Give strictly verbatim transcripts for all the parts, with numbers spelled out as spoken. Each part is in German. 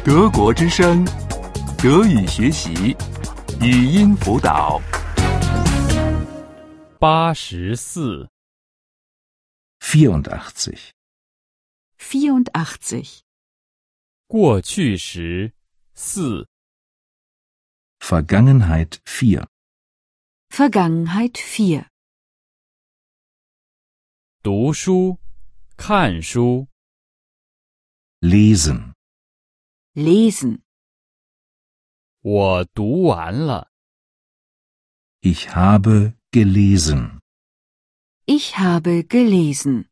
德国之声，德语学习，语音辅导。 八十四。 vierundachtzig. vierundachtzig. 过去时四。 Vergangenheit vier. Vergangenheit vier. 读书，看书。 Lesen. Lesen. 我读完了。 Ich habe gelesen. Ich habe gelesen.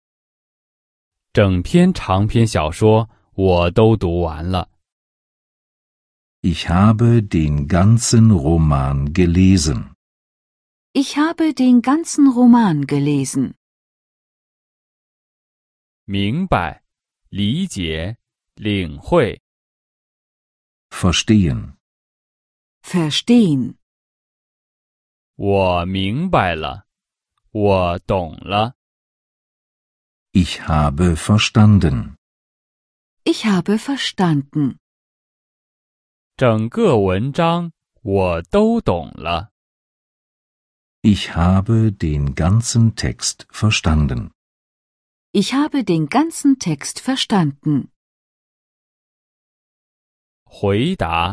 整篇长篇小说我都读完了。 Ich habe den ganzen Roman gelesen. Ich habe den ganzen Roman gelesen. 明白，理解，领会。 Verstehen. Verstehen. 我明白了，我懂了。 Ich habe verstanden. Ich habe verstanden. 整个文章我都懂了。 Ich habe den ganzen Text verstanden. Ich habe den ganzen Text verstanden. 回答，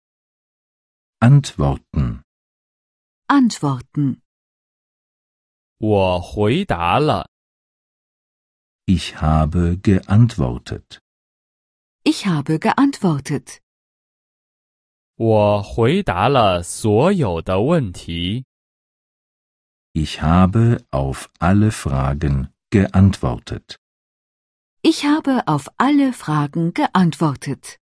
Antworten. Antworten. 我回答了。 Ich habe geantwortet. Ich habe geantwortet. 我回答了所有的问题。 Ich habe auf alle Fragen geantwortet. Ich habe auf alle Fragen geantwortet.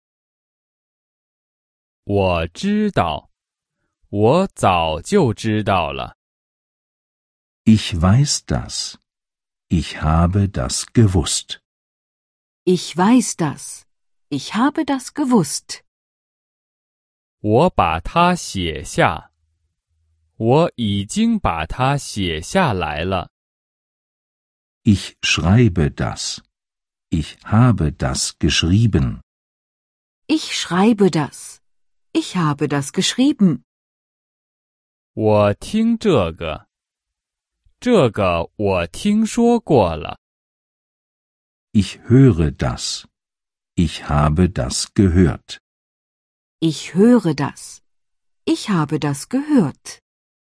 我知道，我早就知道了。 Ich weiß das. Ich habe das gewusst. Ich weiß das. Ich habe das gewusst. 我把它写下，我已经把它写下来了。 Ich schreibe das. Ich habe das geschrieben. Ich schreibe das. Ich habe das geschrieben. 我听这个，这个我听说过了。 Ich höre das. Ich habe das gehört. Ich höre das. Ich habe das gehört.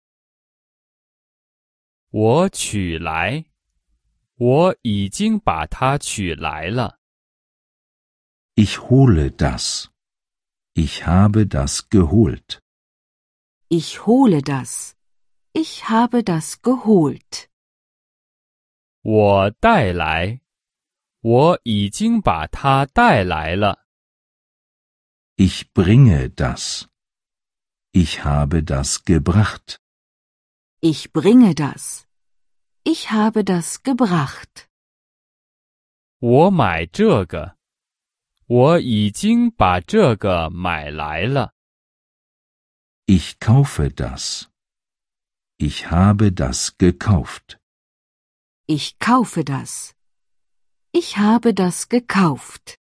我取来，我已经把它取来了。 Ich hole das. Ich habe das geholt. Ich hole das. Ich habe das geholt. 我带来，我已经把它带来了。 Ich bringe das. Ich habe das gebracht. Ich bringe das. Ich habe das gebracht. 我买这个，我已经把这个买来了。 Ich kaufe das. Ich habe das gekauft. Ich kaufe das. Ich habe das gekauft.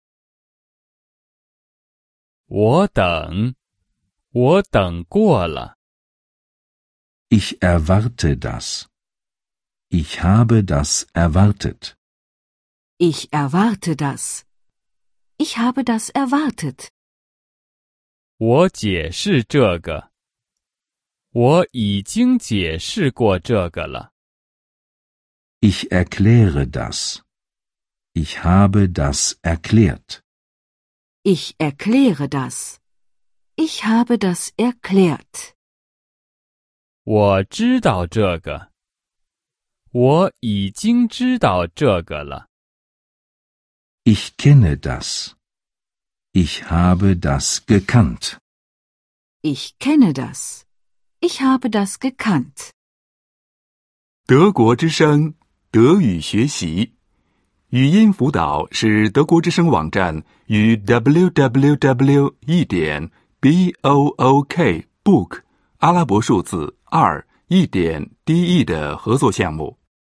我等，我等过了。 Ich erwarte das. Ich habe das erwartet. Ich erwarte das. Ich habe das erwartet. 我解释这个，我已经解释过这个了。 Ich erkläre das. Ich habe das erklärt. Ich erkläre das. Ich habe das erklärt. 我知道这个，我已经知道这个了。 Ich kenne das. Ich habe das gekannt. Ich kenne das. Ich habe das gekannt. 德国之声，德语学习，语音辅导是德国之声网站与 double u double u double u 一点 b o o k book 阿拉伯数字二一点 d e 的合作项目。